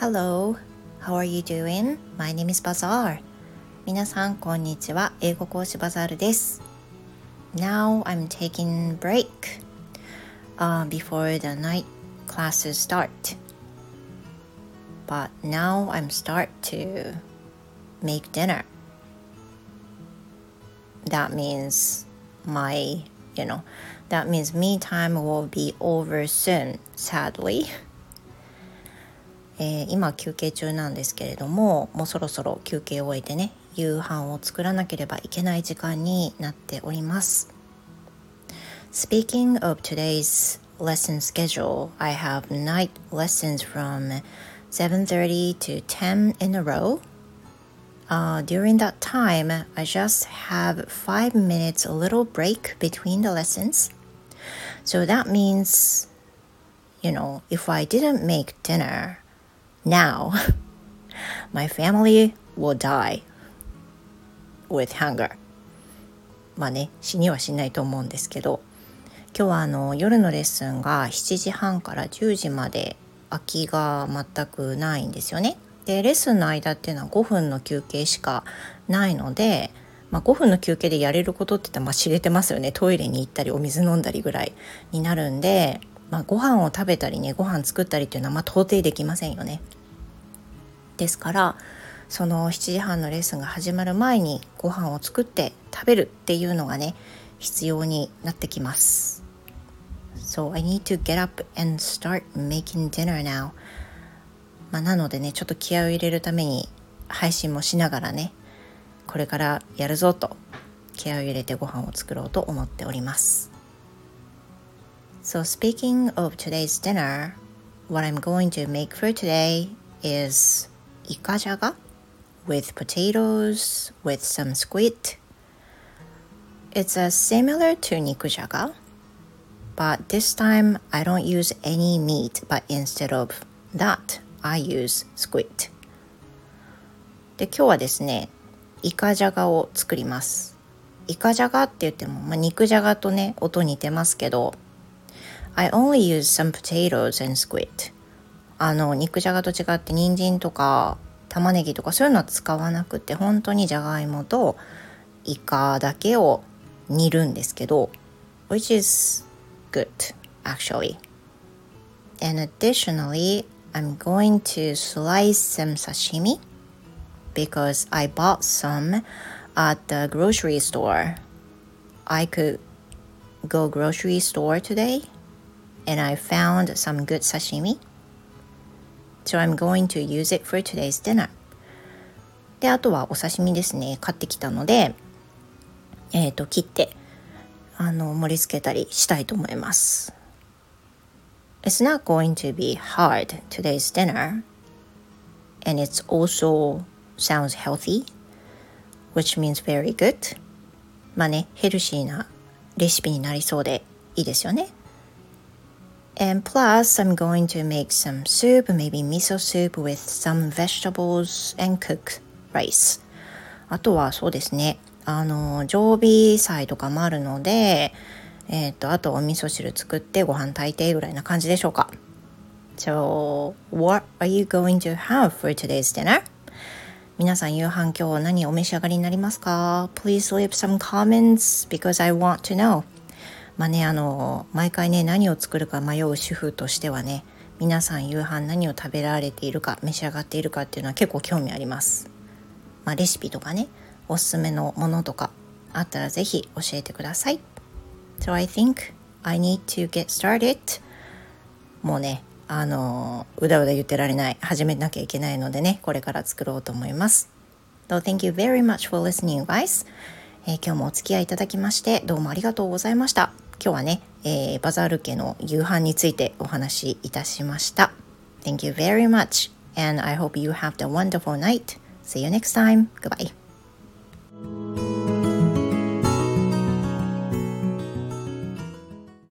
Hello, how are you doing? My name is Bazaar. 皆さんこんにちは。英語講師バザールです。Now I'm taking break before the night classes start. But now I'm start to make dinner. That means that means me time will be over soon, sadly.今休憩中なんですけれども、もうそろそろ休憩を終えてね、夕飯を作らなければいけない時間になっております。Speaking of today's lesson schedule, I have night lessons from 7:30 to 10 in a row. During that time, I just have 5 minutes a little break between the lessons. So that means, if I didn't make dinner,Now, my family will die with hunger. まあね、死にはしないと思うんですけど、今日は夜のレッスンが7時半から10時まで空きが全くないんですよね。で、レッスンの間っていうのは5分の休憩しかないので、5分の休憩でやれることって言ったら知れてますよね。トイレに行ったりお水飲んだりぐらいになるんで、ご飯を食べたりね、ご飯作ったりっていうのは到底できませんよね。ですからその7時半のレッスンが始まる前にご飯を作って食べるっていうのがね必要になってきます。So I need to get up and start making dinner now. なのでねちょっと気合を入れるために配信もしながらねこれからやるぞと気合を入れてご飯を作ろうと思っております。So speaking of today's dinner, what I'm going to make for today isイカジャガ with potatoes with some squid. It's similar to 肉じゃが but this time I don't use any meat but instead of that I use squid. で今日はですねイカジャガを作ります。イカジャガって言っても、肉じゃがとね音似てますけど I only use some potatoes and squid.肉じゃがと違って人参とか玉ねぎとかそういうのは使わなくて本当にじゃがいもとイカだけを煮るんですけど which is good actually. And additionally, I'm going to slice some sashimi because I bought some at the grocery store. I could go grocery store today and I found some good sashimi.So I'm going to use it for today's dinner. で、あとはお刺身ですね。買ってきたので、切って、盛り付けたりしたいと思います。It's not going to be hard today's dinner. And it also sounds healthy, which means very good. ヘルシーなレシピになりそうでいいですよね。And plus, I'm going to make some soup, maybe miso soup with some vegetables and cook rice. あとはそうですね、常備菜とかもあるので、あとお味噌汁作ってご飯炊いてぐらいな感じでしょうか。So, what are you going to have for today's dinner? 皆さん夕飯今日何お召し上がりになりますか？ Please leave some comments because I want to know.毎回ね何を作るか迷う主婦としてはね皆さん夕飯何を食べられているか召し上がっているかっていうのは結構興味あります。レシピとかねおすすめのものとかあったらぜひ教えてください。So I think I need to get started. もうねうだうだ言ってられない始めなきゃいけないのでねこれから作ろうと思います。So thank you very much for listening guys. 今日もお付き合いいただきましてどうもありがとうございました。今日はね、バザール家の夕飯についてお話しいたしました。Thank you very much and I hope you have a wonderful night. See you next time. Goodbye.